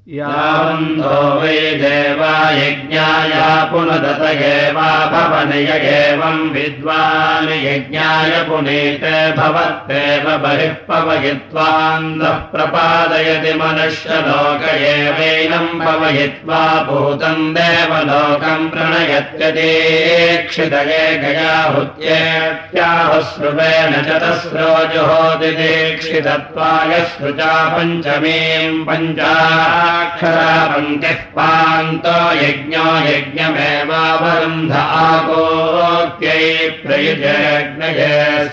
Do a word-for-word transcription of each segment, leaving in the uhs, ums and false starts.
यावन्तो वै देवा यज्ञाय पुनदतयेवा भवनय एवं विद्वान् यज्ञाय पुनीते भवत्येव बहिः पवयित्वान्दः प्रपादयति मनुष्यलोक एवैनं पवयित्वा भूतं देवलोकं प्रणयत्यदीक्षितये गयाहुत्येत्याहुश्रुवेण चतस्रो जुहोति दीक्षितत्वाय सृजा पञ्चमीं पञ्चा अक्षरा पङ्क्तिः पान्तो यज्ञो यज्ञमेवावरुन्ध आकोत्यै प्रयुजयज्ञये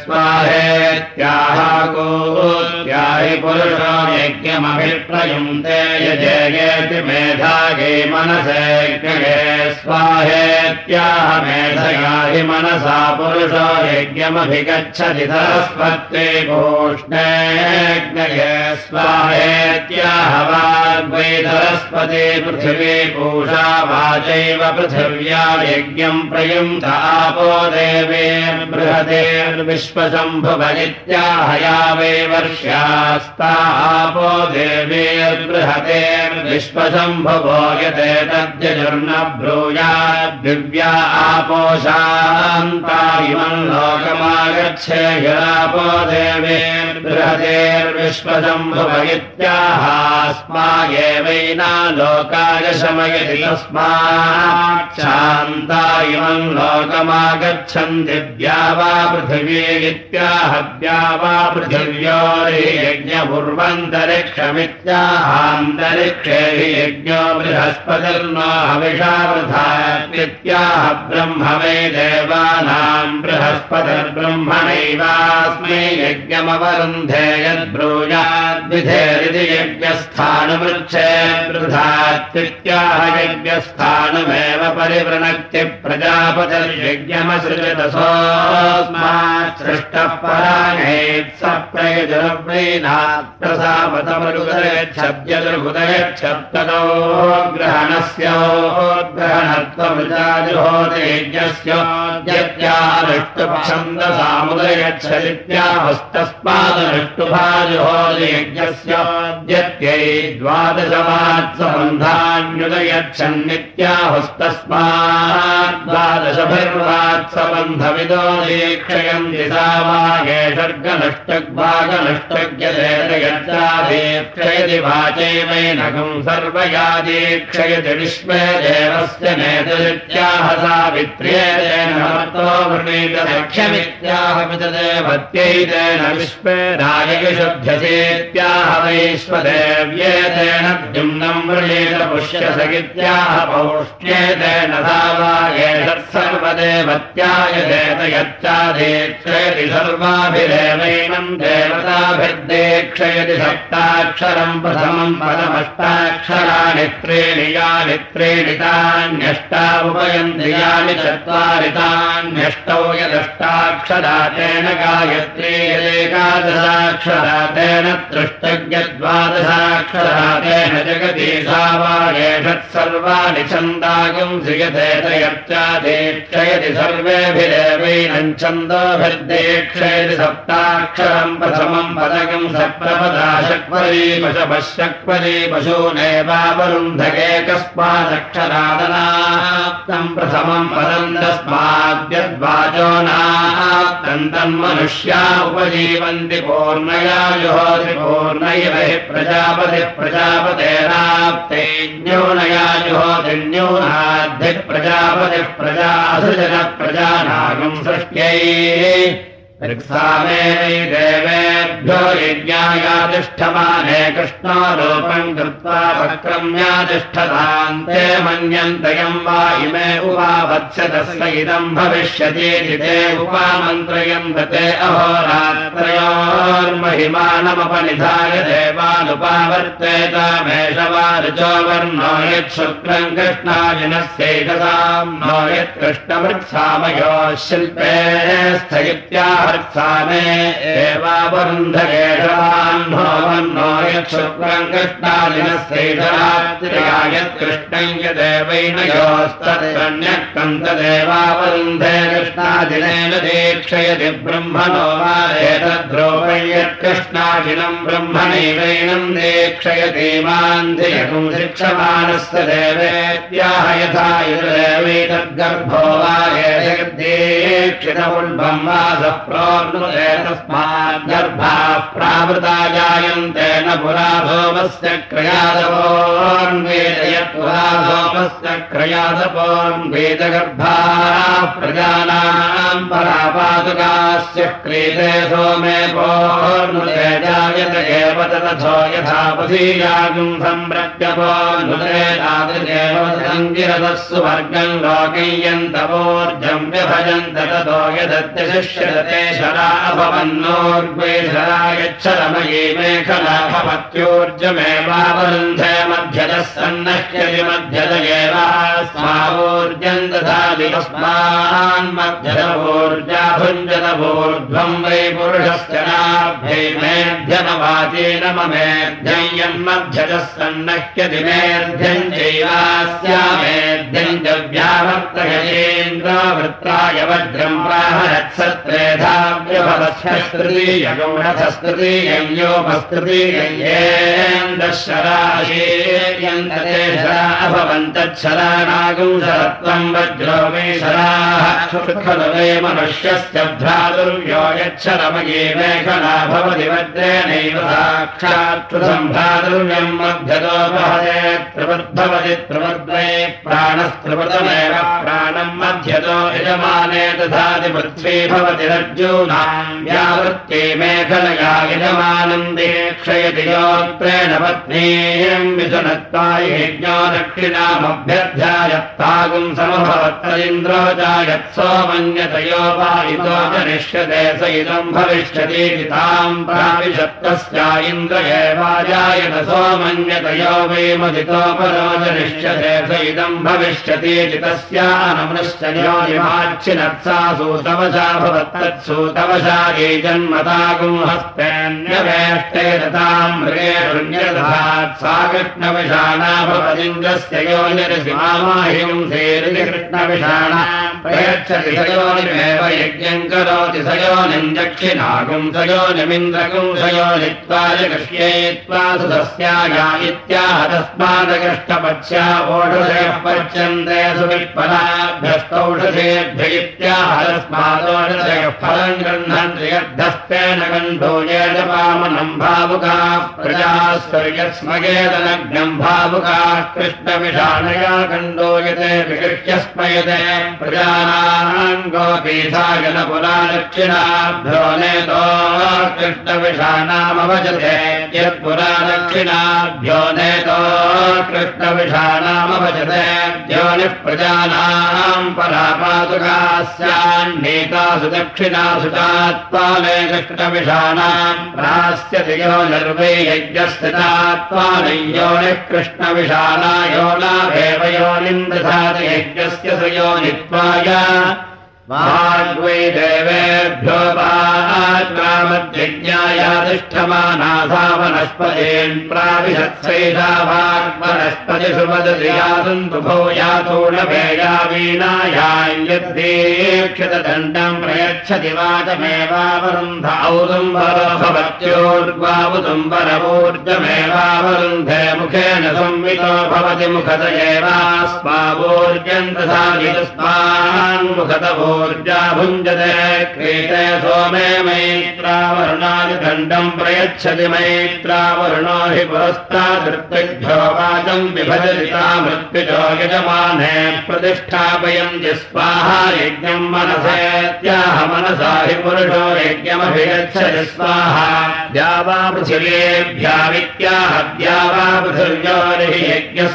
स्वाहेत्याहाकोत्याहि पुरुषो यज्ञमभिप्रयुङ्क्ते यजेयेति मेधायै मनसेज्ञये स्वाहेत्याह मेधया हि मनसा पुरुषो यज्ञमभिगच्छति सरस्वत्यै पूष्णेज्ञये स्वाहेत्याह वाग्वै सरस्वती पृथिवी पूषा वाचैव पृथिव्या यज्ञं प्रयुङ्क्त आपो देवेर्बृहतेर्विश्वशम्भुव इत्याहया वै वर्ष्यास्ता आपो देवेर्बृहतेर्विश्वशम्भुवो यते तद्यजुर्न ब्रूयाद्दिव्या आपो शान्ता इमं लोकमागच्छेयुरापो देवेर्बृहतेर्विश्वशम्भुव इत्याहास्मायेवैना लोकाय शमयति तस्मात् शान्ता इमं लोकमागच्छन् दिव्या वा पृथिवी इत्याह द्या वा पृथिव्योर्यज्ञपूर्वन्तरिक्षमित्याहान्तरिक्षे हि यज्ञो बृहस्पतिर्नो हविषा वृथात्याह ब्रह्म वै देवानां बृहस्पतिर्ब्रह्मणैवास्मै यज्ञमवरुन्धे यद्ब्रूयाद्विधेरिति यज्ञस्थानमृच्छे वृथात्याह यज्ञस्थानमेव परिवृणक्ति प्रजापतिर्यज्ञमसृजत सोऽस्मात् सृष्टः पराणेत् स प्रयुजनव्रीनात् प्रसापतमरुदयच्छब्दुर्हुदयच्छब्दतो ग्रहणस्योद्ग्रहणत्वमृताजुहोति यज्ञस्योद्यत्यानुष्टुप्छन्दसामुदयच्छदित्याहस्तस्मादनुष्टुभाजुहोति यज्ञस्योद्यत्यै द्वादशवात्सबन्धान्युदयच्छन्नित्याहुस्तस्मात् द्वादशभिर्वात्सबन्धविदो दीक्षयन्ति सा वागे सर्गनष्टग्भागनष्टग्यदेतयच्चादीक्षयति वाचैवैनकं सर्वया दीक्षयति विश्वे देवस्य नेतरित्याह सावित्र्येतेन मर्तो वृणीत दक्षमित्याह पितदेवत्यैतेन विश्वे राजविशुध्यसेत्याह वैश्वदेव्येतेन द्युम्नं वृणीत पुष्यसगित्याह पौष्ण्येतेन सा वागे सर्वदेवत्याय देतयच्चादीक्षयति सर्वाभिरेवैनं देवताभिर्दीक्षयति सप्ताक्षरं प्रथमं पदमष्टाक्षराणि त्रीणि यानि त्रीणि तान्यष्टा उपयन्ति यानि चत्वारि तान्यष्टौ यदष्टाक्षरा तेन गायत्री यदेकादशाक्षरा तेन त्रिष्टव्यद्वादशाक्षरा तेन जगति सा वागेषत्सर्वाणि छन्दागुंसि यथेतयच्चादीक्षयति सर्वेभिरेवैनं छन्दोभिर्दीक्षयति सप्ताक्षरं प्रथमं पदकं सप्तपदा शक्वरी पशपशक्वरी पशूनेवावरुन्धकेकस्मादक्षरादनाप्तं प्रथमं पदं तस्माद्यद्वाचो नाप्तं तन्मनुष्या उपजीवन्ति पूर्णया जुहोति पूर्णैव हि प्रजापतिः प्रजापतेराप्ते न्यूनया जुहोति न्यूनाद्धिः प्रजापतिः प्रजासृजन प्रजानागं सृष्ट्यै ऋक्सामे देवेभ्यो यज्ञायातिष्ठमाने कृष्णो रूपं कृत्वा वक्रम्यातिष्ठतान्ते मन्यन्तयं वा इमे उपावत्स्यतस्य इदं भविष्यतीति ते उपामन्त्रयन्त ते अहोरात्रयोर्महिमानमपनिधाय देवानुपावर्तेतामेष वा ऋचो वर्णो यच्छुक्रं कृष्णाजिनस्यैकतां नो यत्कृष्णमृत्सामयोः शिल्पे स्थगित्याह अर्त्सामे एवावरुन्धकेशवान्नो वन्नो यच्छुक्रम् कृष्णादिनस्यैषरात्रियायत्कृष्णम् यदेवैन योस्तत्कन्यः कन्तदेवावरुन्धे कृष्णादिनेन दीक्षयति ब्रह्मणो वा एतद्रोपै यत्कृष्णादिनम् ब्रह्मणैवैनम् दीक्षयति मान्धियकुम् शिक्षमाणस्य देवेत्याह यथा युर्देवैतद्गर्भो वा एतद्दीक्षितमुल्भम् वा स प्रोन्नुते तस्माद्गर्भाः प्रावृता जायन्ते न पुरा भोमस्य क्रयादपोन्वेदयत्पुरा भोमस्य क्रयादपोन्वेदगर्भाः प्रजानाम् परापादुकास्य क्रीते सोमे पोर्नुते जायत एव तथो यथापसीयागुम् सम्प्रत्यपोर्नुते तादृशेव सङ्गिरतः सुवर्गम् लोकय्यन्तवोर्जम् व्यभजन्त ततो यदत्यशिष्यते शरा अभवन्नोर्ग्वे शरा यच्छरमयी मेखला भवत्योर्जमेवावरुन्धे मध्यतः सन्नह्यति मध्यत एवास्मावोर्जम् दधाति तस्मान्मध्यतवोर्जा भुञ्जतवोर्ध्वम् वै पुरुषस्य नाभ्यै मेध्यमवाचेन ममेध्यम् यन्मध्यतः सन्नह्यति मेध्यम् चैवास्यामेध्यम् च व्यावर्तयेन्द्रावृत्ताय वज्रम् प्राहरत्सत्रेधाव्यभवत्स्तृतीयगौणथस्तृतीयम् योपस्तृतीयेन्दशराशीर्यन्तते शरा अभवन्तच्छरानागुम् शरत्वम् वज्रो मे शराः खलु वै मनुष्यस्य भ्रातुर्यो यच्छरमये मेखला भवति वज्रेणैव साक्षात्कृतम् भ्रातुर्यम् मध्यतो वहते त्रिवद्भवति त्रिवद्वै प्राणस्त्रिवृतमेव प्राणम् मध्यतो यजमाने दधाति पृथ्वी भवति रज्जूनाम् व्यावृत्ते मेखलया यजमानम् दीक्षयति योत्रेण पत्नीम् मिथुनत्वाय यज्ञो दक्षिणामभ्यध्यायत्तागुम् समभवत्तरिन्द्रो जायत्सोमन्यतयो वायुतो जनिष्यते स इदम् भविष्यतीति ताम् प्राविशत्तस्या इन्द्र एवाजायत सोमन्यतयो वै मदितोपरो जनिष्यते स इदम् भविष्यतीति तस्यानमृश्चयो निमाच्छिनत्सा सूतवशा भवत्तत्सूतवशा ये जन्मतागुम् हस्तेऽन्यवेष्टे दताम् मृगेरुण्यदधात् सा कृष्णविषाणा भवदिन्द्रस्य योनिरसिमामाहिम् सेरिति कृष्णविषाणा प्रयच्छति स योनिमेव यज्ञम् करोति स योनिम् दक्षिणागुम् स योनिमिन्द्रगुम् स योनित्वाय कृष्येत्वा सुतस्याया इत्याह तस्मादकृष्टपत्स्या ओषधयः पच्यन्ते सुवित्पलाभ्यस्तौषधेभ्य इत्याह तस्मादोषधयः फलम् गृह्णन्ति यद्धस्तेन गण्डो येजपामनम् भावुकाः प्रजास्वर्यस्मगेदनग्नम् भावुकाः कृष्णविषाणया गण्डोयते विकृष्य स्मयते प्रजानाम् गोपीठाय न पुरा दक्षिणाभ्यो नेतो कृष्णविषाणामभजते यत्पुरा दक्षिणाभ्यो नेतो कृष्णविषाणामभजते योनिः प्रजानाम् परापादुकास्यान्नेतासु दक्षिणासु चात्पाले कृष्णविषाणाम् प्रास्यति यो निर्वै यज्ञस्थितात्पालै योनिः कृष्णविषाणा यो नाभेव योनिम् दधाति यज्ञस्य स योनित्वाय वाग्वै देवेभ्यो वाग्रामद्यज्ञायातिष्ठमानासा वनस्पतीन् प्राविशत्सैषा वाग्वनस्पतिषु वदति यातन्तु भो यातो न भेया वीणायाम् यद्दीक्षितदण्डम् प्रयच्छति वाचमेवावरुन्ध औदुम्बरो भवत्योर्ग्वावुदुम्बरवूर्जमेवावरुन्धे मुखेन संवितो भवति मुखत एवास्मावूर्जम् दधाति तस्मान्मुखतवो ऊर्जा भुञ्जते क्रीते सोमे मैत्रावरुणादिदण्डम् प्रयच्छति मैत्रावरुणो हि पुरस्तादृत्तिभ्यो वाचम् विभजति मृत्युजो यजमाने प्रतिष्ठापयन्ति स्वाहा यज्ञम् मनसेत्याह मनसा हि पुरुषो यज्ञमभिगच्छति स्वाहा द्यावा पृथिव्येभ्या विद्याह द्यावा पृथिव्यो हि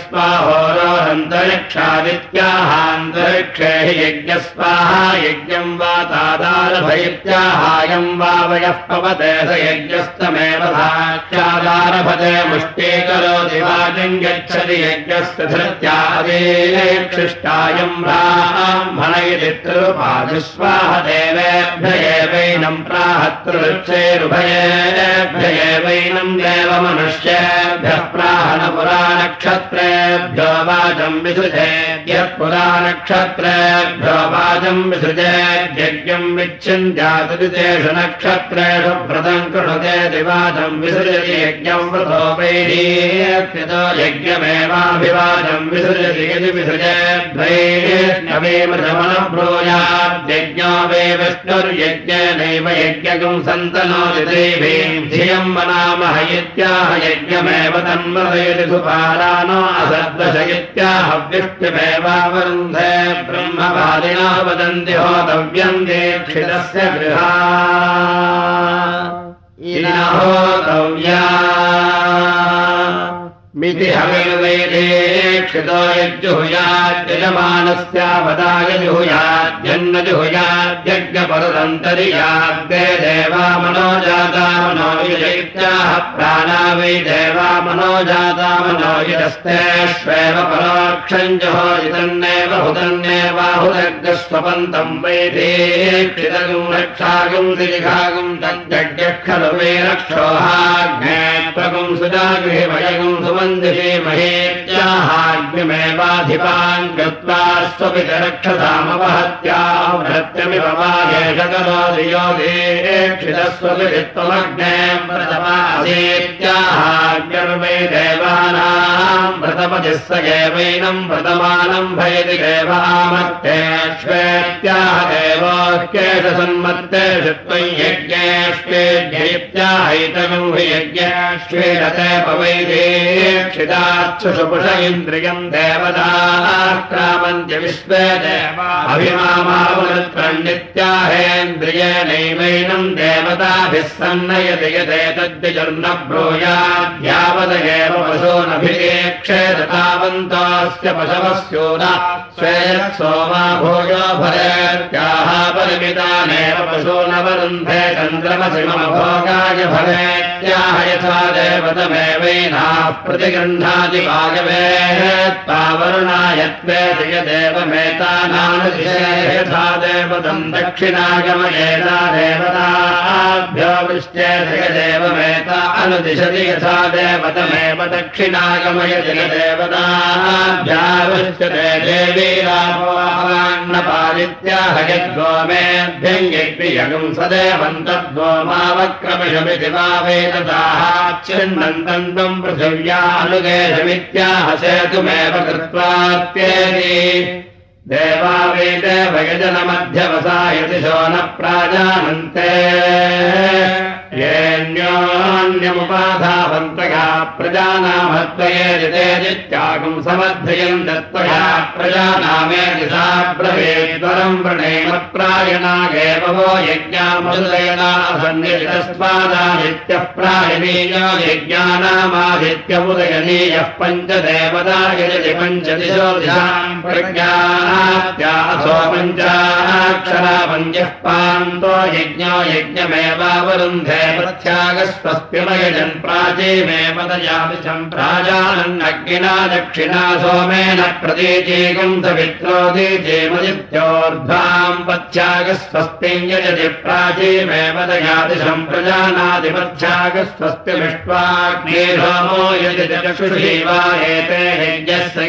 यज्ञस्वाहोरोरन्तरिक्षादित्याहान्तरिक्षे हि यज्ञस्वाहा यज्ञम् वा तादारभयित्याहायम् वा वयः पवते स यज्ञस्तमेव भाच्यादारभते मुष्टीकरोति वाजम् गच्छति यज्ञस्य धृत्यादेक्षिष्टायम् ब्राह्मण इति त्रिरुपादिस्वाह देवेभ्य एवैनम् प्राहतृक्षैरुभयेभ्य एवैनम् देवमनुष्येभ्यः प्राहन पुराणक्षत्रेभ्यो वाजम् विसृजेद्यत्पुराणक्षत्रेभ्यो वाजम् विसृजेद्यज्ञम् विच्छिन्द्यादितेषु नक्षत्रेषु व्रतम् कृणुते दिवाजम् विसृजति यज्ञम् व्रतो वैरीयकृतो यज्ञमेवाभिवाजम् विसृजति यदि विसृजेद्वैर्नवेमृतमनब्रूयाद्यज्ञो वै विष्णुर्यज्ञेनैव यज्ञकम् सन्तनोति देवीम् धियम् वनामह इत्याह यज्ञमेव तन्मदयति सुपारानो असद्वश इत्याह विष्णुमेवावरुन्धे ब्रह्मवादिनो वदन्ति होतव्यम् दीक्षितस्य गृहा होतव्या मिति हविर्वैदीक्षितो यज्जुहुयाद्यजमानस्यापदाय जुहुयाद्यन्न जुहुयाद्यज्ञपरदन्तरियाद्दे देवा मनोजाता मनोयुजैत्याह प्राणा वै देवा मनोजाता मनोयुजस्तेष्वेव परोक्षम् जुहोजितन्नेव हुतन्नेवाहुदग्रस्वपन्तम् वैदीक्षितगुम् रक्षागुम् दिलिघागुम् तज्जज्ञः खलु वै रक्षोहाग्ने त्वगुम् सुजागृहिभयगुम् सुमन् महेत्याहाग्निमेवाधिपान् कृत्वा स्वपितरक्षसामवहत्यावृत्यमिव वागेश करोति यो दीक्षितस्वपित्वमग्ने व्रतमासेत्याहाग्निर्वै देवानाम् व्रतपतिः स एवैनम् व्रतमानम् भयति देवामत्तेष्वेत्याह देवोऽह्येष सन्मत्तेषु त्वयि यज्ञेष्वेद्यैत्याहैतगम् हि यज्ञेष्वेरते पवैदे क्षिताक्षुषुपुष इन्द्रियम् देवताक्रामन्त्य विश्वे देवा अभिमामावृत्प्रण्डित्याहेन्द्रियेणैवैनम् देवताभिः सन्नयति यदेतद्विजुर्न ब्रूयाद्यावदेव पशूनभिरेक्षेत तावन्तोऽस्य पशवस्योना स्वेयत्सोमा भूयो भवेत्याह परिमितानेव पशूनवरुन्धे चन्द्रमसि मम भोगाय भवेत्याह यथा देवतमेवैनाः प्रतिगृह्णाति भागवेत्तावरुणायत्वेति यदेवमेतानानुदिशे यथा देवतम् दक्षिणागमयेता देवताभ्यो वृष्ट्येति यदेवमेता अनुदिशति यथा देवतमेव दक्षिणागमयति यदेवताभ्यावृष्ट्यते देवी रामोऽन्नपालित्याह यद्गोमेभ्यम् यज्ञयगुम् सदेवम् तद्गोमावक्रमिषमिति वा वेदताहाच्छिन्नन्तम् त्वम् पृथिव्या अनुगेशमित्याह सेतुमेव कृत्वात्येति देवा वै देवयजनमध्यवसायति शो न प्राजानन्ते येऽन्योन्यमुपाधावन्तया प्रजानामत्वयेदितेजित्यागुम् समर्थयन् दत्त्वया प्रजानामेति सा ब्रवीद्वरम् वृणेमत्प्रायणागेव वो यज्ञामदुदयना असन्नितस्मादादित्यः प्रायणीयो यज्ञानामादित्यमुदयनीयः पञ्चदेवता यजति पञ्चदिशो दिशाम् प्रज्ञानात्यासो पञ्चाक्षरा पञ्चः पान्तो यज्ञो यज्ञमेवावरुन्धे प्रत्यागस्वस्तिमयजन् प्राचीमेव दयामिषम् प्राजानन्नग्निना दक्षिणा सोमेन प्रतीचीकम् सवित्रोदीचेमदित्योर्ध्वाम् पथ्यागस्वस्तिम् यजति प्राचीमेव दयादिशम् प्रजानादिपथ्यागस्वस्तिमिष्ट्वाग्निहोमो यजति चक्षुषी वा एते यज्ञस्य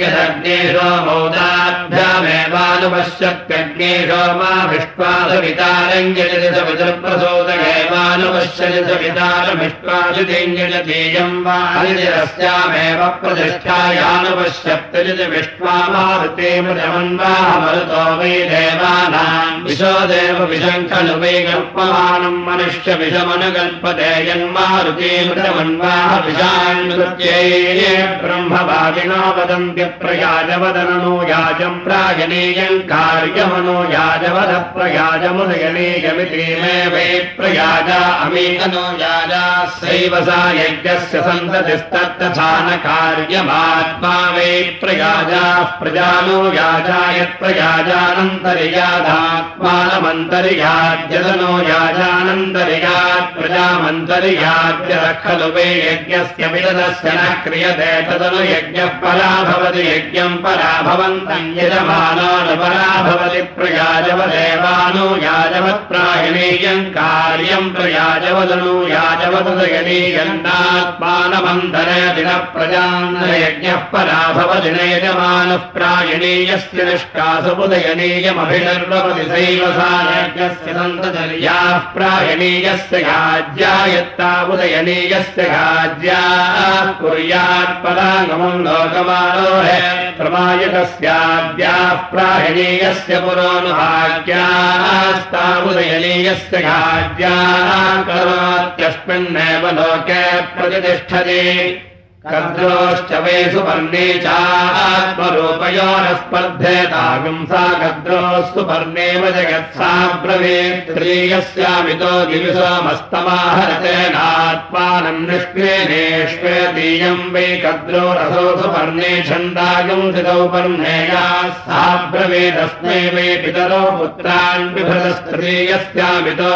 यदग्निहोमोदाभ्यामेवानुपश्यत्यग्निहोमाभिष्ट्वा सवितारम् यजति सवितुर्प्रसोदयेवानुपश्य मिष्ट्वाजुतिञ्जतीयम् वा हरिरस्यामेव प्रतिष्ठायानुपश्यत्यजिति विष्ट्वामारुतेमृतमन्वाह मरुतो वै देवानाम् विशो देव विषम् खलु वै कल्पमानम् मनुष्य विषमनुकल्पते यन्मारुतेमृतमन्वाह विषान्कृत्यै ब्रह्मवादिनो वदन्ति प्रयाजवदननो याजम् प्रायणीयम् कार्यमनो याजवद प्रयाजमुदयनीयमिति मे वै प्रयाजा अमी अनुयाजास्यैव सा यज्ञस्य सन्ततिस्तत्तथा न कार्यमात्मा वै प्रयाजाः प्रजानुयाजा यत्प्रयाजानन्तर्यादात्मानमन्तर्याद्यदनो याजानन्तर्यात् प्रजामन्तर्याद्यः खलु वै यज्ञस्य विदधस्य न क्रियते तदनु यज्ञः परा भवति यज्ञम् परा भवन्तम् यजमानानुपरा भवति प्रयाजवदेवानुयाजवत्प्रायणीयम् कार्यम् प्रयाजवदनुयाजवदयनीयन्नात्मानमन्तरयति न प्रजान्नयज्ञः परा भवति न यजमानः प्रायणीयस्य निष्कासमुदयनीयमभिनिर्वपति सैव सा यज्ञस्य सन्ततिर्याः प्रायणीयस्य गाज्या यत्तावुदयनीयस्य गाज्या कुर्यात् परागमम् लोकमारोहे प्रमायकस्याद्याः प्रायणीयस्य पुरोनुभाग्यास्तावुदयनीयस्य गाज्याः करोत्यस्मिन्नेव लोके प्रतिष्ठति कद्रोश्च वै सुपर्णे चात्मरूपयोः स्पर्धेतागम् सा कद्रोः सुपर्णेव जगत्सा ब्रवीत् त्रीयस्यामितो दिविसोमस्तमाहरतेनात्मानम् निष्क्रियेष्वेदीयम् वै कद्रोरसो सुपर्णे छन्दागम् सितौ पर्णेयाः सा ब्रवीदस्मै वै पितरो पुत्रान् बिभ्रतस्त्रीयस्यामितो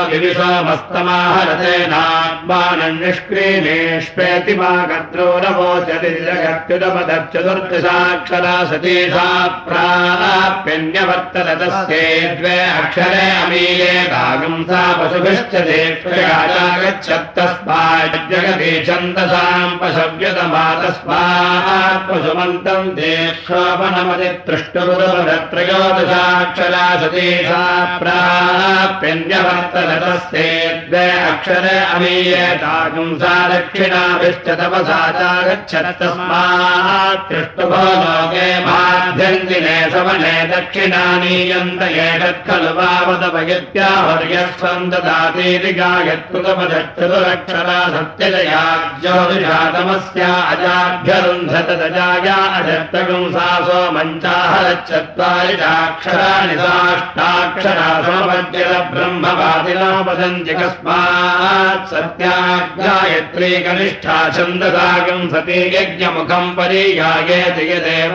दिविसोमस्तमाहरतेनात्मानम् निष्क्रियेष्वेति मा कद्रोरव चतुर्दशाक्षरा सती सा प्राप्यन्यवर्तत तस्यै द्वे अक्षरे अमीये दागम् सा पशुभिश्च देक्षयाजागच्छत्तस्मात् जगति छन्दसाम् पशव्यतमा तस्मात् पशुमन्तम् देक्षोपनमतितृष्टुरुदत्रयोदशाक्षरा सती सा प्राप्यन्यवर्तत तस्यै द्वे अक्षरे अमीये दागम् सा दक्षिणाभिश्च तपसा गच्छत्तस्मात् तृष्टुभो लोके माध्यन्दिने सवने दक्षिणानीयन्त एतत् खलु वावदपयत्याहुर्यस्वम् ददातीति गायत्कृतपदच्चतुरक्षरा सत्यजया ज्योतिषातमस्या अजाभ्यरुन्धत तजाया अजत्तगुं सा सोमञ्चाहरच्चत्वारिषाक्षराणि साष्टाक्षरा समपद्यत ब्रह्मवादिनापदन्ति कस्मात् सत्या गायत्री कनिष्ठा छन्दसागम् सती यज्ञमुखम् परियायेति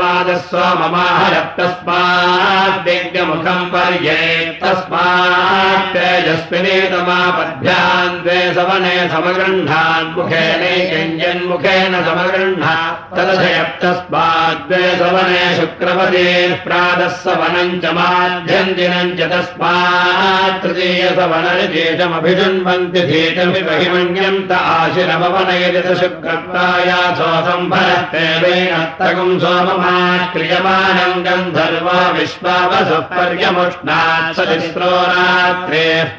यदेवादस्वममाहरत्तस्मात् यज्ञमुखम् पर्येत् तस्मात् तेजस्विनी तमापद्भ्यान् द्वे सवने समगृह्णान् मुखेनैकञ्जन्मुखेन समगृह्णात् तदधयत्तस्मात् द्वे सवने शुक्रपदेः प्रातः सवनम् च माध्यन्दिनम् च तस्मात् तृतीयसवनरिजेशमभिषण्वन्ति धीतमिमहिमन्यन्त आशिरमवनयति शुक्रत्वाया सोऽसम्भरत्ते वेणत्तगुम् सोममात् क्रियमाणम् गन्धर्वो विश्वावसुः पर्यमुष्णात् स तिस्रो रात्रेः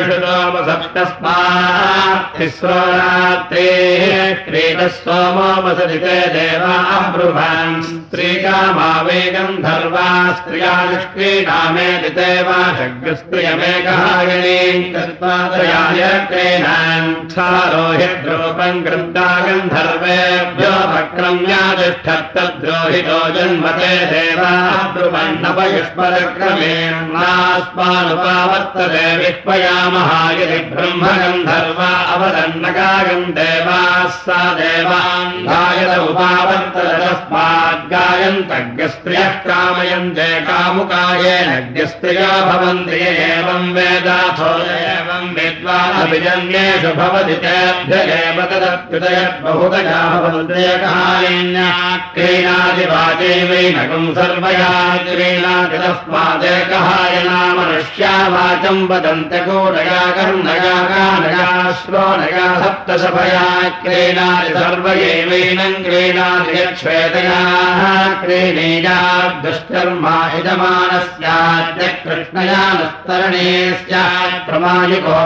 परिमिषुतोमसप्तस्मात् तिस्रो रात्रेः क्रीडः सोमोपसति ते देवा अब्रुवान् स्त्रीकामा वै गन्धर्वा स्त्रिया निष्क्रीडामेति ते वा शग्रस्त्रियमेकहायणीम् कृत्वा त्रयाय क्रीणान् क्षारोहिद्रूपम् कृत्वा गन्धर्वेभ्यो भक्रम्यातिष्ठत्तद्रोहितो जन्मते देवाः ब्रुवन्नपयुष्मरक्रमेण नास्मानुपावर्तते विह्वयामः यदि ब्रह्मगन्धर्वा अवदन्नगायम् देवाः सा देवान् गायत उपावर्तत तस्मात् गायन्तज्ञस्त्रियः कामयन्ते कामुकायेनज्ञस्त्रियो भवन्ति य एवम् वेदाथो एवम् विद्वानभिजन्येषु भवति तेभ्य एव तदप्युदयद्बहुतया भवन्त्येकहायिन्या क्रीणादिवाचै वैनकम् सर्वया क्रीणाति तस्मादेकहायना मनुष्या वाचम् वदन्त्य कूटया कर्णया कानया श्रोणया सप्तशभया क्रीणाति सर्वयैवैनम् क्रीणाति यच्छ्वेतयाः क्रीणीयात् दुष्कर्मा यजमानस्याद्य कृष्णया नस्तरणे स्यात् प्रमायुको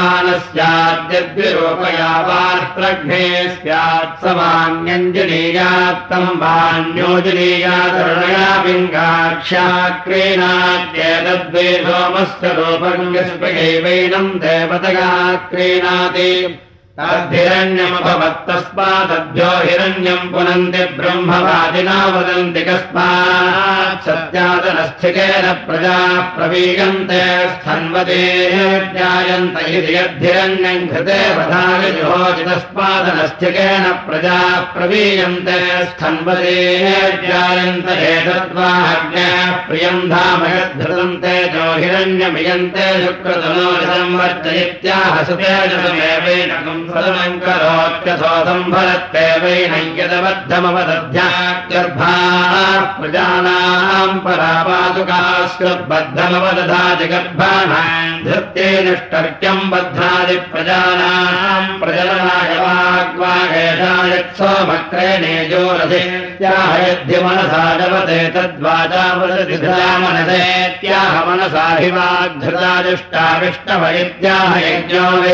यजमानस्याद्यद्विरूपया वार्प्रघ्ने स्यात् समान्यञ्जनीयात्तम् वान्योजनीयातरुणया पिङ्गाक्ष्या क्रीणात्येतद्वै सोमस्य रूपम् यस्पयैवैनम् देवतया क्रीणाति तद्धिरण्यमभवत्तस्मादभ्यो हिरण्यम् पुनन्ति ब्रह्मवादिना वदन्ति कस्मात् सत्यादनस्थिकेन प्रजाः प्रवीयन्ते स्थन्वते ज्ञायन्त इति यद्धिरण्यम् घृते वधानि जुहोति तस्मादनस्थिकेन प्रजाः प्रवीयन्ते स्थन्वते ज्ञायन्त एतद्वाज्ञाः प्रियम् धाम यद्धृतन्ते जो हिरण्यमियन्ते शुक्रतनो वर्जयित्याह सुतेजसमेवैनकम् सदनम् करोत्यसो सम्भरत्तेवैनं यदबद्धमवदध्यागर्भाः प्रजानाम् परापादुकास्कृद्बद्धमवदधाति गर्भाणाम् धृत्येनिष्टर्क्यम् बध्नादि प्रजानाम् प्रजननाय वाग्वागेशायत्सोमक्रेणेजोरथेत्याह यद्धिमनसा जवते तद्वाचा वदति धृता मनसेत्याह मनसा हि वाग्धृताजुष्टाविष्टव इत्याह यज्ञो वे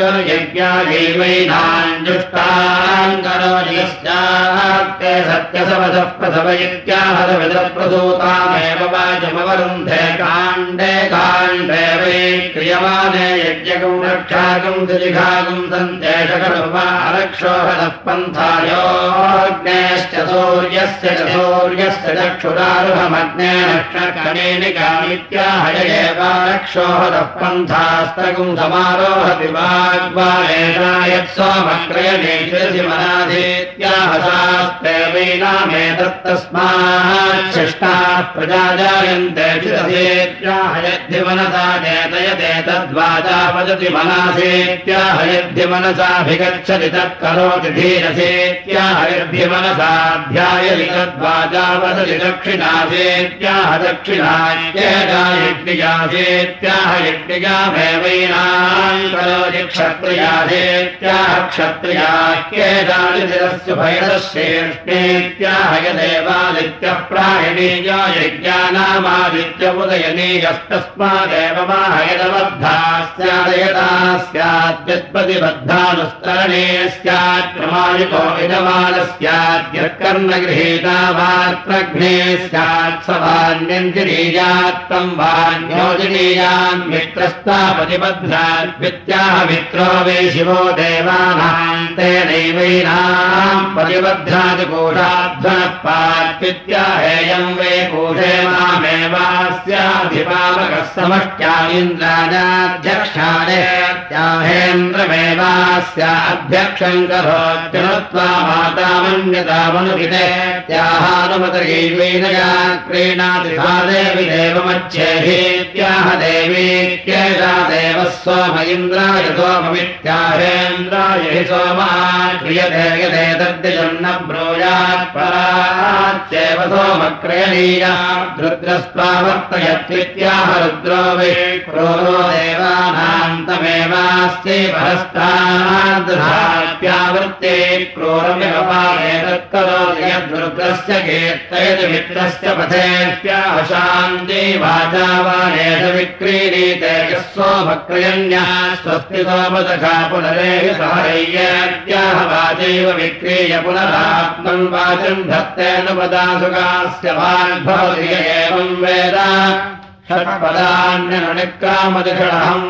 विष्णुर्यज्ञायैवैनाञ्जुष्टान् करोति यस्यास्ते सत्यसवसः प्रसव इत्याहरविदप्रसूतामेव वाचमवरुन्धे काण्डे काण्डे वै क्रियमाणे यज्ञकम् रक्षाकम् सुजिघाकम् सन्देशकरुपारक्षोहदः पन्थायोऽग्नेश्च सूर्यस्य च सूर्यस्य चक्षुरारुहमग्ने नक्षकमेनिकामित्याह एवारक्षोहदः पन्थास्तकम् समारोहति वाग्वायेषायत्सोमक्रयणे शिरसि मनाधीत्याह शास्ते वैनामेतत्तस्माच्छिष्टाः प्रजा जायन्ते शिरसेत्याह यद्धिमनसा चेतयते तद्वाचा वदति मनासेत्याह यद्धिमनसाभिगच्छति तत्करोति धीरसेत्याह यद्धिमनसाध्यायति तद्वाचा वदति दक्षिणासेत्याह दक्षिणायज्ञायज्ञियासेत्याह यज्ञियामेवैनाम् करोति क्षत्रियासेत्याह क्षत्रियाख्येतानि शिरस्य भैरश्रेष्ठेत्याह यदेवादित्यः प्रायणीयो यज्ञानामादित्य उदयनीयस्तस्मादेव माहयदबद्धा स्यादयता स्याद्यत्प्रतिबद्धानुस्तरणे स्यात् प्रमाणिको विदमानः स्याद्यत्कर्णगृहीता वात्रघ्ने स्यात् सवान्यञ्जनीयात्तम् वान्योजनीयान् मित्रस्तापतिबध्नात् वित्याह मित्रो वे शिवो देवानाम् तेनैवैनाम् प्रतिबध्नाति कोषाध्वनः पात्वित्याहेयम् वे कोषे मामेवास्याधिपावकः समष्ट्या इन्द्राजाध्यक्षाणेत्याहेन्द्रमेवास्याध्यक्षम् करोत्यनुत्वा मातामन्यतामनुहितेत्याहानुमतैवैनया क्रीणाति सा देवि देवमच्छेहीत्याह देवीत्येषा देवः सोम इन्द्राय सोममित्याहेन्द्राय हि सोमान् क्रियते यते तद्दिजम् न ब्रूयात् पराच्चैव सोमक्रयणीया रुद्रस्त्वावर्तयत्वित्याह रुद्रो वै क्रोरो देवानाम् तमेवास्ति परस्ताद्धाप्यावृत्ते क्रोरमिव पायेतत्करोति यद्रुद्रस्य कीर्तयति मित्रस्य पथेत्याह शान्ति वाचा वाणेष विक्रीणीते यः सोमक्रयण्यः स्वस्ति सोमदखा पुनरेहि सहरय्यत्याह वाचैव विक्रीय पुनरात्मन् वाचम् धत्तेऽनुपदासुकास्य वाग्भवति य एवम् वेद षट्पदान्यनुनिक्रामदिषडहम्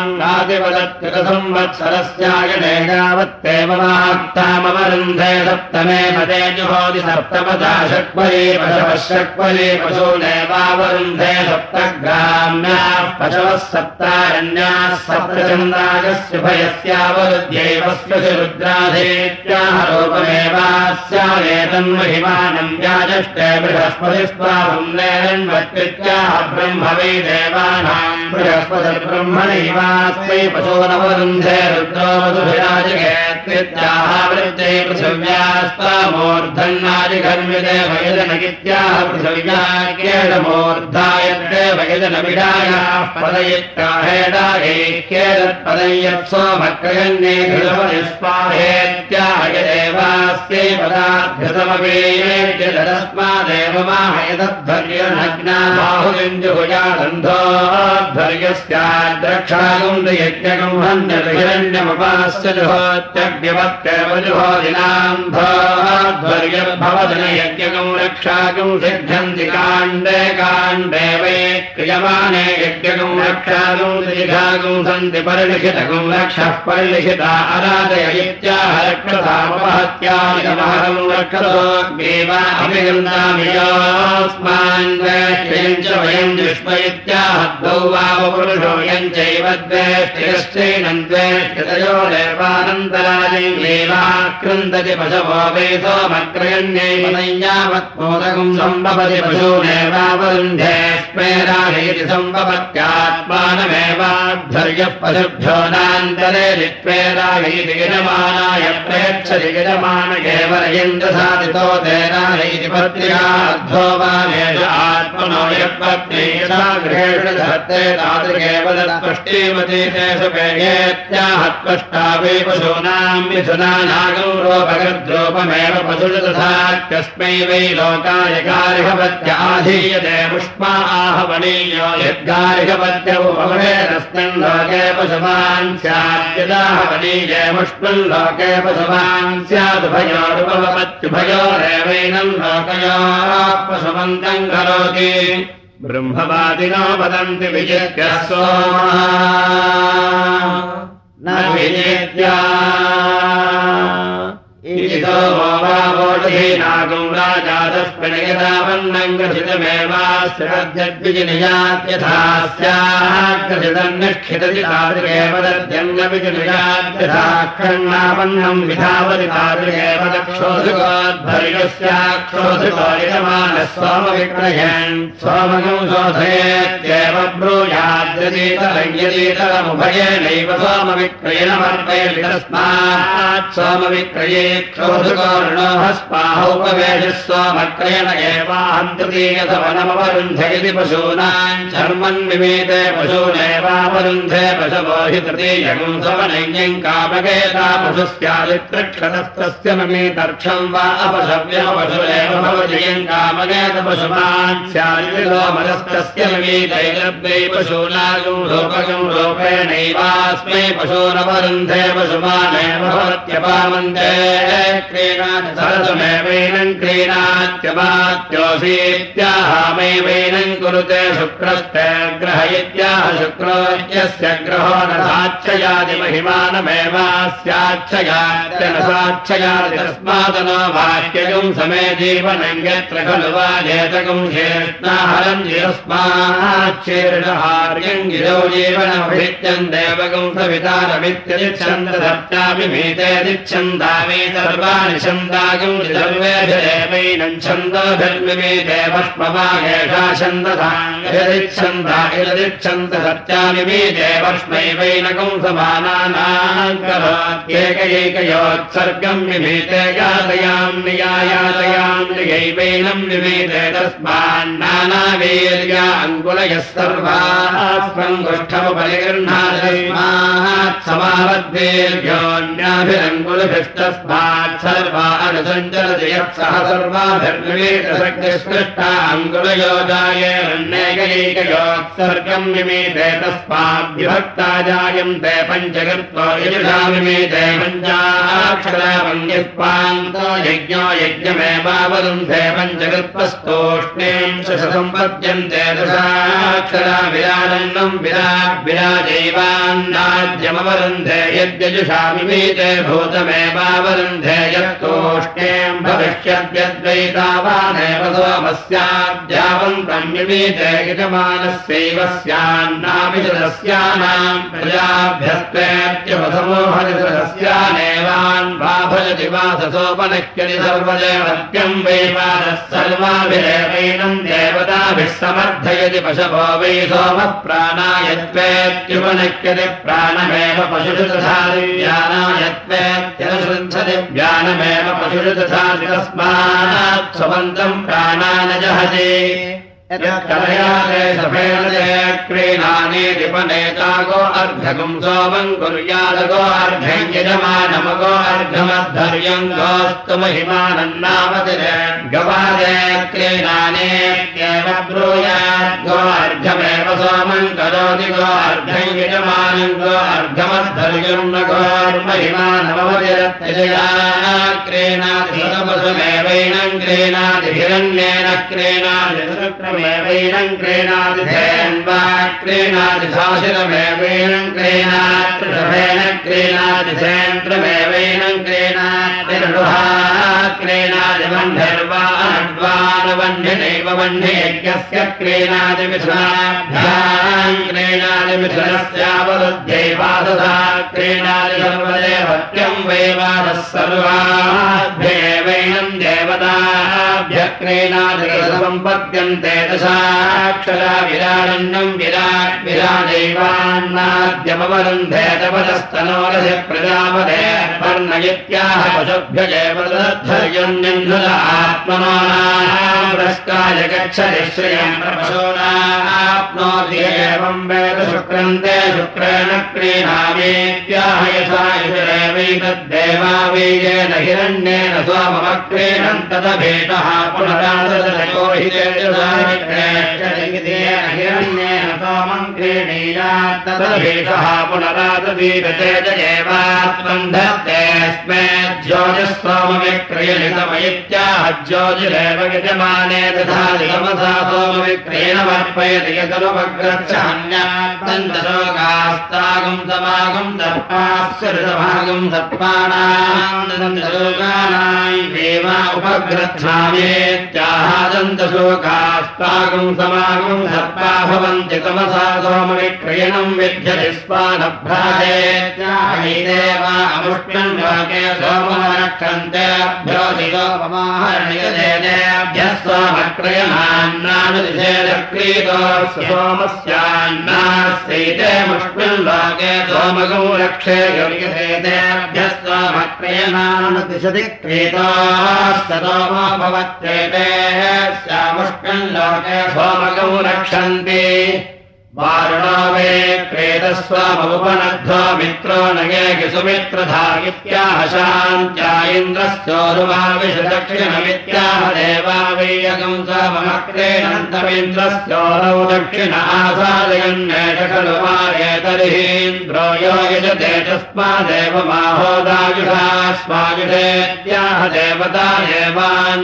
वाङ्गादिवदत्युतसंवत्सरस्यायने यावत्तेव वाक्तामवरुन्धे सप्तमे पदे जुहोति सप्तपदा षट्पदी पशवः षट्पदी पशूनेवावरुन्धे सप्तग्राम्याः पशवः सप्तारण्याः सप्तचन्द्रागस्य भयस्यावरुध्यैवस्य रुद्राधेत्याह रूपमेवास्यावेतन्महिमानम् व्याजष्टे बृहस्पतिस्त्वाहम् नेरन्वत्कृत्याह ब्रह्म वै देवानाम् बृहस्पतिर्ब्रह्मणैवास्मै पशूनवरुन्धे रुद्रो मधुभिराजगेत्याह वृत्ते पृथिव्यास्तामूर्धन्नादिघर्मिते भयजनगित्याह पृथिव्याख्येदमूर्धायत्ते भयजनविडायाः पदयित्ताहेडायैख्येदत्पदय्यत्सोमक्रयन्ये घृतपतिस्वाहेत्याह यदेवास्यै पदाद्घृतमवेद्यतस्मादेव माहयतध्वर्यनग्ना बाहुलिम् जुहुयादन्धोऽध्व ध्वर्यस्याद्रक्षागम् यज्ञगम् हन्यतु हिरण्यमुपास्य जुहोत्यग्निवत्येव जुहोदिनाम् ध्वर्यर्भवदन यज्ञगम् रक्षागम् सिद्ध्यन्ति काण्डे काण्डे वै क्रियमाणे यज्ञगम् रक्षागम् दीर्घागम् सन्ति परिलिखितगम् रक्षः परिलिखिता अराधय इत्याह रक्षसामपहत्यामिदमहरम् रक्षतोऽग्नेवा अभिगन्धामि योऽस्मान् द्वेष्टियम् च वयम् जुष्म इत्याह द्वौ वावपुरुषो यम् चैव द्वेष्टियश्चैनम् द्वेष्टितयो देवानन्तरायम् देवाक्रन्दति पशवो वै सोमक्रयण्यैव संयावत्मोदकम् सम्भवति पशूनेवावरुन्धे स्मेराहीति सम्भवत्यात्मानमेवाध्वर्यः पशुभ्यो नान्तरे लित्वेराहीति गिरमाणाय प्रेक्षति गिरमान केवलयन्द्रसादितो तेराहीति पत्र्याद्धो वामेष आत्मनो यत्पत्नी यथा गृहेषु धत्ते तादृगेवदत्पष्टीमती तेषु पेयेत्याहत्पष्टा वै पशूनाम् मिथुनानागम् रोपगद्रोपमेव पशुषु तथा कस्मै वै लोकाय गार्हपत्य आधीयते पुष्पा आहवनीयो यद्गार्हपत्य उपभवेदस्मिन् लोके पशुमान् स्याद्यदाहवनीये पुष्पम् लोके पशुमान् स्यादुभयोरुपवपत्युभयोरेवैनम् लोकयोः पशुमन्तम् करोति ब्रह्मवादिनो वदन्ति विजित्य सोमः न विजित्या ोषधीनागुम् राजातस्मिन् यदावन्नम् ग्रथितमेवास्यद्विजिनियात्यथा स्याग्रथितम् निष्ठितति तादृगेव दद्यन्नविजिनियात्यथा खण्डावन्नम् विधावति तादृगेव दक्षोधुकोद्भर्गस्याक्षोधुको यजमानः सोमविक्रयन् सोमगम् शोधयेत्येव ब्रूयाद्यतीतरयतीतरमुभयेनैव सोमविक्रयणमर्पयति तस्मात् सोमविक्रये क्षोधुकोर्णोः स्पाहोपवेशः सोमक्रयण एवाहन्तृतीयसवनमवरुन्धयति पशूनाम् शर्मन् विमीते पशूनेवावरुन्धे पशवो हि तृतीयगम् सवनैन्यम् कामकेता पशुस्यादित्रक्षतस्तस्य ममीतर्क्षम् वा अपशव्यपशुरेव भवजयम् कामकेत पशुमान् स्यादिलोमरस्तस्य ममीतैलब्दै पशूनागम् रूपगम् रूपेणैवास्मै पशूनवरुन्धे पशुमानेव भवत्यपामन्ते सरसमेवैनम् क्रीणात्यमात्योऽसीत्याहामैवैनम् कुरुते शुक्रस्ते ग्रह इत्याह शुक्रो यस्य ग्रहो न साच्छयादिमहिमानमेवास्याच्छयात्य न साच्छयादि तस्मादनो वाक्यगम् समे जीवनम् यत्र खलु वा जेतकम् शेष्णाहरम् जिरस्माच्छीर्षहार्यम् गिरौ जीवनमभित्यम् देवगम् सवितारमित्यच्छन्दसप्ताभिमीतेदिच्छन्दामि सर्वाणि छन्दागम् सर्वेभिरेवैनम् छन्दोभिर्मिमीते भस्मवागेषा छन्दसाङ्गरिच्छन्दा इरदिच्छन्द सत्यामिमीते भस्मैवैनकम् समानानाम् करोत्येकैकयोत्सर्गम् मिमीते यातयाम् नियायातयाम् नियैवैनम् मिमीते तस्मान्नानावीर्या अङ्गुलयः सर्वास्मङ्गुष्ठमुपरिगृह्णात् समावद्वीर्योऽन्याभिरङ्गुलभिस्तस्मात् सर्वा अनुसञ्चरति यत्सह सर्वाभिर्निमीतशक्तिस्पृष्टा अङ्गुलयोजायेरन्यैकैकयोत्सर्गम् मिमीते तस्माद्विभक्ता जायन्ते पञ्चकृत्वो यजुषा मिमीते पञ्चाक्षरावङ्गिस्पान्तो यज्ञो यज्ञमेवावरुन्धे पञ्चकृत्वस्तोष्णीम् सम्पद्यन्ते दशाक्षरा विराजन्नम् विराट् विराजैवान्नाद्यमवरुन्धे यद्यजुषा मिमीते भूतमेवावरुन्धे यत्तोष्णीम् भविष्यद्यद्वैतावानेव सोमस्याद्यावन्तम् मिमीते यजमानस्यैव स्यान्नाभिषदस्यानाम् प्रजाभ्यस्तेत्यवसमोहनिषदस्यानेवान् वाभजति वाससोपनक्यति सर्वदेवत्यम् वै वासः सर्वाभिरेवैनम् देवताभिः समर्थयति पशवो वै सोमः प्राणायत्वेत्युपनक्यति प्राणमेव पशुषु तथा दिव्यानायत्वेत्यनुसृच्छति व्यानमेव पशुषु तथा तस्मात् स्वमन्तम् प्राणानजहति कलयाते सफेनते क्रीणानीतिपनेतागो अर्धगुम् सोमम् कुर्यादगो अर्धम् यजमानमगो अर्धमद्धर्यम् गोस्तु महिमानन्नामतिरे गवादे क्रीणानेत्येव ब्रूयाद्गो अर्धम् अर्घमेव सोमं करोति गो अर्घं यजमानं गो अर्घमद्धर्यं न गोर्महिमानमवतिरत्यजया क्रीणाति सदपसुमेवैनं क्रीणाति हिरण्येन क्रीणाति शुक्रमेवैनं क्रीणाति धेन्वा क्रीणाति साशिरमेवैनं क्रीणाति वृषभेन क्रीणाति धेन्द्रमेवैनं क्रीणाति ऋढुहा क्रीणाति वह्निर्वा अनड्वानवह्निनैव वह्नियज्ञस्य क्रीणाति मिथुनाभ्यां क्रीणाति मिथुनस्यावरुध्ये वाससा क्रीणाति सर्वदेवत्यं वै वासः सर्वाभ्येवैनं देवताभ्यः क्रीणाति सम्पद्यन्ते दशाक्षरा विराडन्नं विराट् विराजैवान्नाद्यमवरुन्धे तपदस्तनोरसि प्रजापते वर्णयित्याह पशुभ्यजेव तद्धर्यं निन्धुत आत्मनोनाः गच्छति श्रियं प्रपशोनाप्नोति एवं वेद शुक्रन्ते शुक्रेण क्रीणामीत्याह यथा युरेवैतद्देवावीयेन हिरण्येन सोममक्रीणन् तदभीतः पुनराददयो हि तेजसामित्रेष्यदिगेन हिरण्येन सोमं क्रीणीयात् तदभीतः पुनराददीपतेजयेवात्मन् धत्तेऽस्मे ज्योतिस्सोमविक्रियलितमयित्याह ज्योतिरेव यजमाने दधाति तमसा सोमविक्रियणमर्पयति यदनुपग्रच्छान्यात्तन्तशोकास्तागं समागं दर्पास्य ऋतभागं दर्पानां देवा उपग्रच्छामेत्याहादन्तशोकास्तागं समागं दर्पा भवन्ति तमसा सोमविक्रियणं विद्यति स्वानभ्राजेत्याहैदेवा अमुष्टन् लोके सोममरक्षन्तेभ्यो दिगोपमाहरणयदेभ्यः सोमक्रयणान्नानुदिशेदक्रीतो सोमस्यान्नास्यैते मुष्मिन् लोके सोमगौ रक्षे योग्यसेतेभ्यः सोमक्रयणानुदिशति क्रीतोस्तोमो भवत्येतेः स्यामुष्मिन् लोके सोमगौ रक्षन्ति वारुणो वे प्रेतस्वामुपनद्धो मित्रो नगे सुमित्रधायित्याह शान्त्या इन्द्रस्योरुमाविषदक्षिणमित्याह देवा वैयगं सोममक्रीणन्तमिन्द्रस्योरौ दक्षिण आसादयन्नेष खलु माये तर्हीन्द्रो यो यजते तस्मादेव माहोदायुषा स्वायुषेत्याह देवता देवान्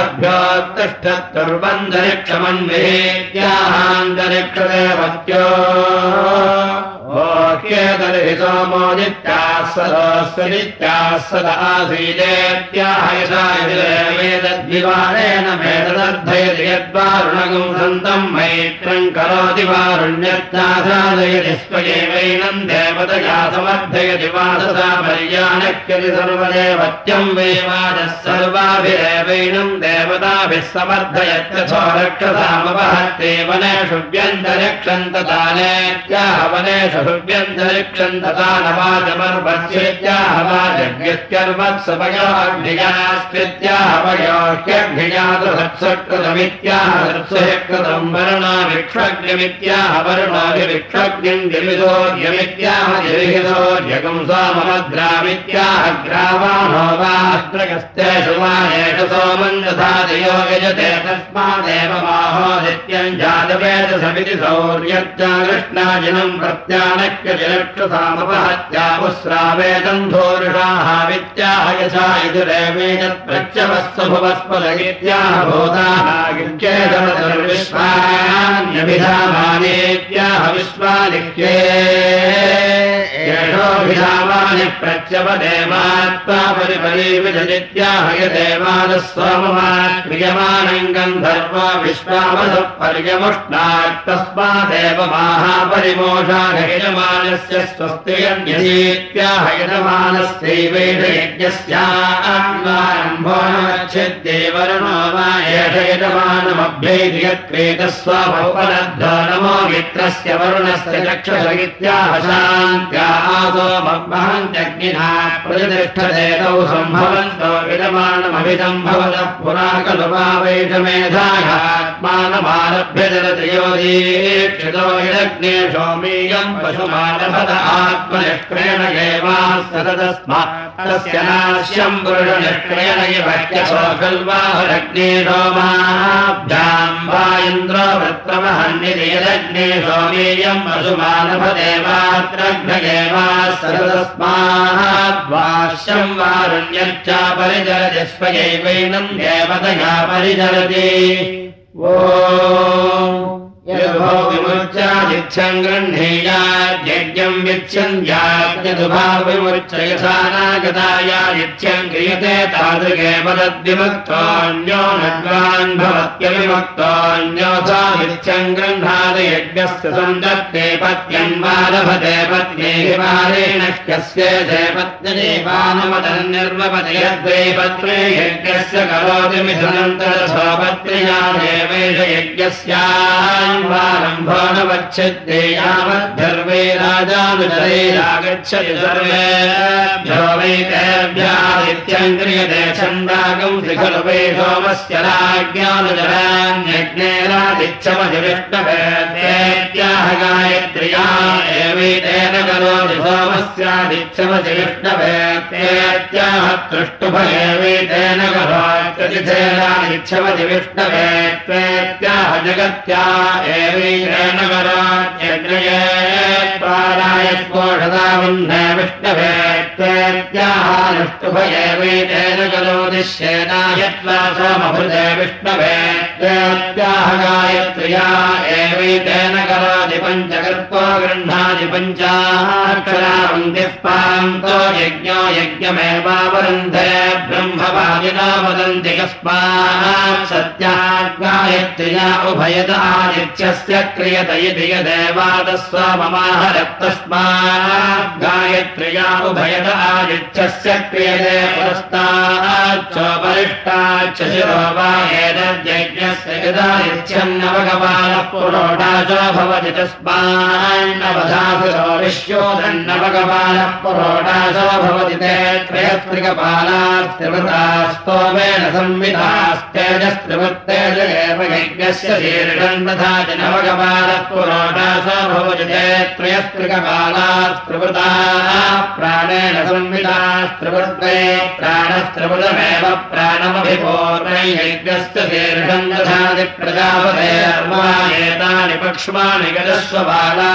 वारभ्योत्तिष्ठत्कुर्वन्तरिक्षमन्विहेत्याहान्तरिक्षदेव ओह्येतर्हि सोमोदित्याः सदोऽस्वदित्याः सद आसीदेत्याह यथा यदेवेदद्विवारेण भेददर्थयति यद्वारुणगं सन्तं मैत्रं करोति वारुण्यत्यासादयति स्वयेवैनं देवतया समर्थयति वाससा पर्यानक्यति सर्वदेवत्यं वै वादः सर्वाभिरेवैनं देवताभिः समर्थयत्यथो रक्षसामवहत्ते वनेषु व्यन्तरिक्षन्ततानेत्याह वनेषु ृत्याहवयोह्यग्निजास्कृत्याहवयोह्यग्निजातुहत्सकृतमित्याह वर्णाभिक्षग्निमित्याह वर्णाभिक्षग्निं गिरिशोर्यमित्याह गिरिहितोर्यगं सोममग्रामित्याह ग्रावाणो वास्त्रगस्तेषु मानेषु सोमं दधातियो यजते तस्मादेव माहोदित्यं जातवेदसमिति सौर्यत्या कृष्णाजिनं प्रत्यानक्यजलक्षसामपहत्यामुस्रावेदं धोरुषाः वित्याह यथा यजुरेवेदत्प्रत्यवस्व भुवस्पदगित्याह भूतानागित्येतमतुर्विश्वान्यभिधामानेत्याह विश्वानिक्ये येषोऽभिधामानि प्रत्यवदेवात्मा परिपरीविजनित्याह यदेवानः सोममाक्रियमानं गन्धर्वो विश्वावसः पर्यमुष्णात्तस्मादेव माहापरिमोषा यजमानस्य स्वस्तियन्यतीत्याह यजमानस्यैवैष यज्ञस्यारम्भोच्छिद्ये वरुणो वा एष यजमानमभ्यैति यत्प्रेतस्वापनद्धो नमो मित्रस्य वरुणस्य चक्षुष इत्याह शान्त्या आसोमहन्त्यग्निना प्रतिष्ठते तौ सम्भवन्तो यजमानमभिसम्भवतः पुरा खलु वा वैषमेधायात् आत्मानमारभ्य जलत्रयोदीक्षितो यज्ञे सोमीयम् पशुमानभत आत्मनिष्क्रेण एवास्ततस्मात् तस्य नाश्यम् पुरुषनिष्क्रेण इवह्यसो खल्वाहुरग्ने सोमाभ्याम् वा इन्द्रो वृत्रमहन्निति यदग्ने सोमीयम् पशुमानभदेवात्रघ्न एवास्ततस्मात् वाश्यम् वारुण्यच्चा परिचरति स्वयैवैनम् देवतया परिचरति ओ यदुभो विमुच्यादिच्छम् गृह्णीयाद्यज्ञम् विच्छन्द्याद्यदुभाव विमुच्य यथानागतायादिच्छम् क्रियते तादृगेव तद्विमुक्तोऽन्यो नद्वान् भवत्यविमुक्तोऽन्योऽथा नित्यम् गृह्णाति यज्ञस्य सन्दत्ते पत्यन्वालभते पत्नी हिमारेण ह्यस्येते पत्नीपानमतन्निर्वपति यद्वै पत्रे यज्ञस्य करोति मिथुनन्तरसोपत्र्या देवेश यज्ञस्या रम्भो न वच्छते यावद्धर्वे राजानुचरैरागच्छति सर्वेभ्यो वैतेभ्यादित्यम् क्रियते छन्दागम् खलु वै सोमस्य राज्ञानुचरान्यज्ञेरादिच्छमधिविष्णवेत्याह गायत्र्या एवैतेन करोति सोमस्यादिच्छमधि विष्णवेत्याह तृष्टुभयेवैतेन करोत्यतिथेनादिच्छमधि विष्णवेत्याह जगत्या एवैतेन करोत्यग्नये प्राणायस्पोषदावह्ने विष्णवेत्याहानुष्टुभयेवैतेन करोति श्येनायत्वा सोमभृते विष्णवेत्याह गायत्र्या एवैतेन करोति पञ्चकर्तो गृह्णाति पञ्चाक्षरावन्तिः पान्तो यज्ञो यज्ञमेवावरुन्धे ब्रह्मवादिनो वदन्ति कस्मात् सत्यात् गायत्र्या उभयत आदित्यस्य क्रियत इति यदेवादस्वाममाहरत्तस्मात् गायत्र्या उभयत आदित्यस्य क्रियते पुरस्ताच्चोपरिष्टाच्च शिरो वा एतद्यज्ञस्य यदादित्यम् नवकपालः पुरोडाचो भवति तस्मान्नवधासुरो विश्वोदन्नवकपालः पुरोडाचो भवति ते त्रयस्त्रिकपालास्त्रिवृतास्तोमेन संविधास्तेजस्त्रिवृत्तेज एव यज्ञस्य शीर्षम् तथा च नवकपालः पुरोडाचो भवति ते त्रयस्त्रिकपालास्त्रिवृताः प्राणेन संविधास्त्रिवृत्ते प्राणस्त्रिवृतमेव प्राणमभिपूर्णै यज्ञस्य शीर्षम् दधाति प्रजापतेर्वायेतानि पक्ष्माणि गजस्वबाला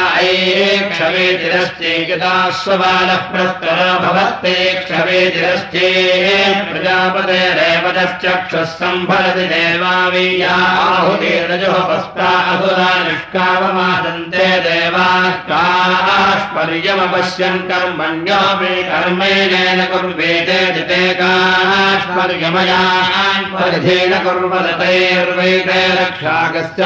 ऐक्षवेतिरश्चैकदास्वबालः प्रस्तरो भवत्ते क्षवेतिरश्चे प्रजापतेरेवतश्चक्षुः सम्भरति देवावीया आहुतिरजोः पस्ता असुरा निष्कावमादन्ते देवाः काश्पर्यमपश्यन् कर्मण्योऽपि कर्मेणेन कुर्वेते जिते काश्पर्यमयान् परिधेन कुर्वतैर्वैते रक्षाकस्य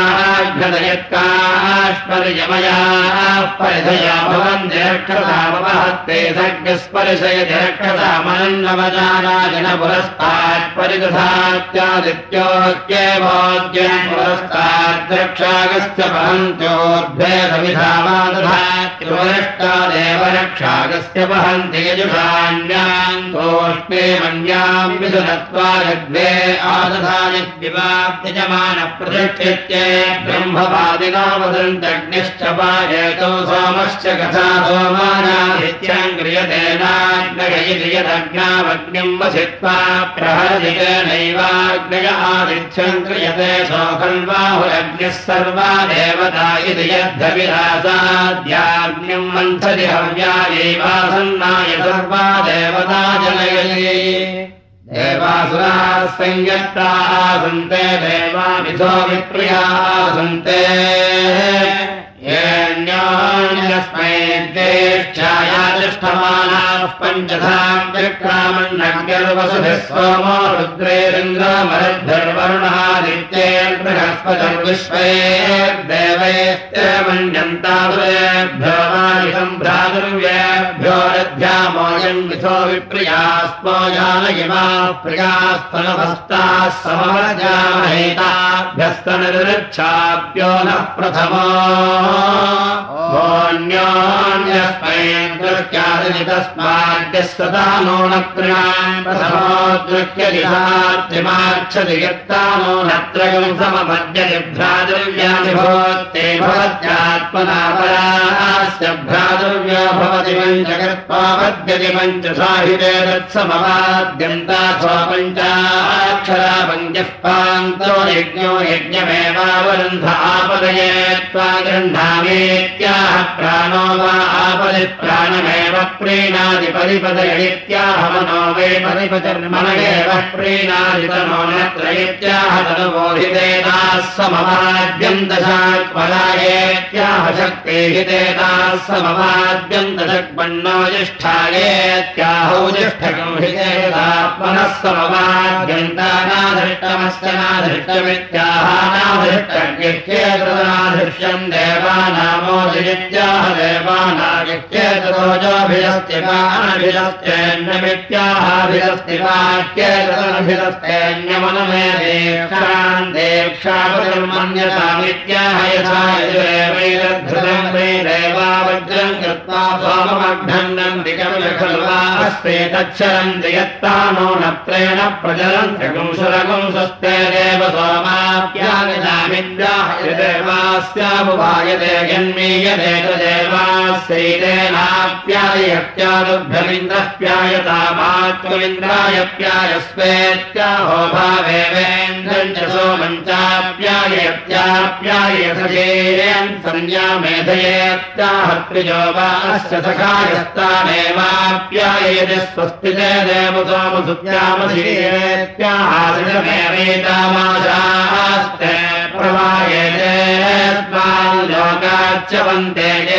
पाघ्नदयत्काश्पर्यमयाः परिधया भवन्ति रक्षसामवहत्ते सज्ञस्परिशयति रक्षसामनन्नवजानाजन पुरस्तात् परिदधात्यादित्योऽक्येवोद्यन् पुरस्तात् रक्षाकस्य वहन्त्योर्ध्वे सविधामादधात्युपरिष्टादेव रक्षाकस्य वहन्ति यजुषाण्याम् तोष्णे मन्याम् विदुनत्वा यद्वे आदधानिद्विवाप्तिजमानः प्रतिष्ठित्ये ब्रह्मवादिनो वदन्तग्निश्च पायेतो सोमश्च कथा सोमानादित्यम् क्रियतेनाग्नय इति यदग्नावग्निम् वसित्वा प्रहरजितेनैवाग्नय आदित्यम् क्रियते सोऽखल्वाहुरग्निः सर्वा देवता इति यद्धविरासाद्याग्निम् मन्थति हव्यायैवासन्नाय सर्वा देवता जनयति देवासुराः संयत्ताः सन्ते देवामिथो विप्रियाः सन्ते येऽन्योन्यस्मै ज्येष्ठायातिष्ठमानाः पञ्चधाम् विक्रामन्नग्निर्वसुभिः सोमो रुद्रेरिन्द्रमरुद्भिर्वरुणादित्यैर्बृहस्पतिर्विश्वैर्देवैस्त्रिमन्यन्तासुरेभ्यो वायुषम् भ्रातुर्व्येभ्यो रथ्यामोऽयम् मिथो विप्रियास्मो जानयिमाः प्रियास्तनभस्ताः समवजामहेताः भ्यस्तनिर्च्छाप्यो नः प्रथमो न्योन्यस्मै दृष्ट्यादिनि तस्माद्यः सदा नो न तृणाम् प्रथमो दृष्ट्यदिशार्थिमार्च्छति यत्ता नो न त्रयम् समपद्यति भ्रातृव्यानि भवत्ते भवत्यात्मना परास्य भ्रातृव्यो भवति पञ्चकृत्वा पद्यति पञ्चसाहिते तत्समवाद्यन्ताथो पञ्चाक्षरा पञ्चः पान्तो यज्ञो यज्ञमेवावरुन्ध आपदये त्वा गृह्णामीत्याह प्राणो वा आपदि प्राणमेव प्रीणादि परिपदयित्याह मनो वै परिपतिर्मन एव प्रीणादि तनो नत्र इत्याह तनुबोधितेताः समवाद्यन्तशाक्पलायेत्याह शक्तिहितेताः समवाद्यन्तशक्पन्नो ज्येष्ठायेत्याहौ ज्येष्ठकं हितेतात्मनः समवाद्यन्तानाधृष्टमस्य नाधृष्टमित्याह नाधृष्टज्ञेतनाधृष्यम् देवानामोदित्याह देवानागित्येतरोजोभिरस्तिपाभिरस्त्येन्नमित्याहाभिरस्त्येन्नमित्याहाभिरस्त्येन्यमनमेदेक्षान् देक्षापतिर्मन्यतामित्याह यथा यजुरेवैरद्धृतम् वै देवावज्रम् कृत्वा सोममघ्नम् दिकमिव खलु वा हस्ते तच्छरन्ति यत्तानो नत्रेण प्रचरन्त्यगुंसुरगुं स्वस्ते देव सोमाप्याविदामिद्याह यदेवास्यामुपायते यन्मीयते तदेवास्यैतेनाप्यायत्यादुभ्यमिन्द्रः प्यायतामात्ममिन्द्राय प्यायस्वेत्याहो भावेवेन्द्रम् च सोमम् चाप्यायत्याप्यायसजेयम् संज्ञा मेधयेत्याहत्रिजो वा अस्य सखायस्तानेवाप्याययति स्वस्ति ते देव सोमसुत्यामसीयेत्याहासिमेवेतामाशास्ते प्रवायते लोकाच्यवन्ते ये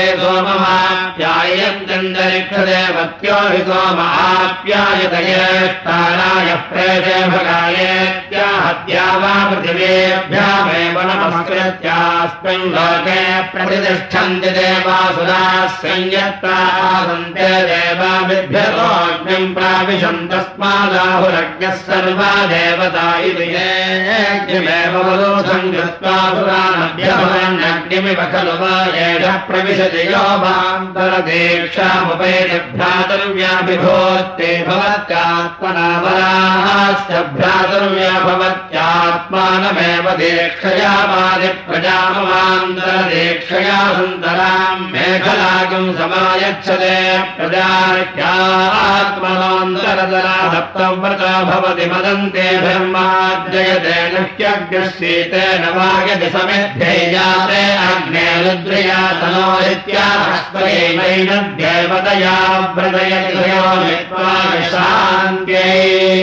सोममाप्यायन्तरिक्षदेवत्यो हि सोमाप्यायत येष्टाराय प्रेते भगायेत्याहत्या वा पृथिवेभ्यामेव नमस्कृत्यास्मिन् लोके प्रतिष्ठन्ति देवासुराः संयत्ता आसन्ते देवाभिभ्यतोऽग्निम् प्राविशन् तस्मादाहुरज्ञः सर्वा देवता इति येऽग्निमेव वरोधम् कृत्वा सुरानभ्यभवन्नग्निमिव खलु वा एषः प्रविशति यो वान्तरदीक्षामुपैति भ्रातृव्याभिभूत्ते भवत्यात्मना परास्य भ्रातृव्या भवत्यात्मानमेव दीक्षया वादिप्रजामवान्तरदीक्षया सुन्दराम् मेखलागम् समायच्छते प्रजाख्यात्मनोऽन्तरतरा सप्तव्रता भवति मदन्ते धर्माद्ययते नह्यग्रशीतेन वायति समेध्यैजाते अग्ने रुद्रया तनोरित्याहस्वयैनैनद्यैवतया व्रतयति शान्त्यै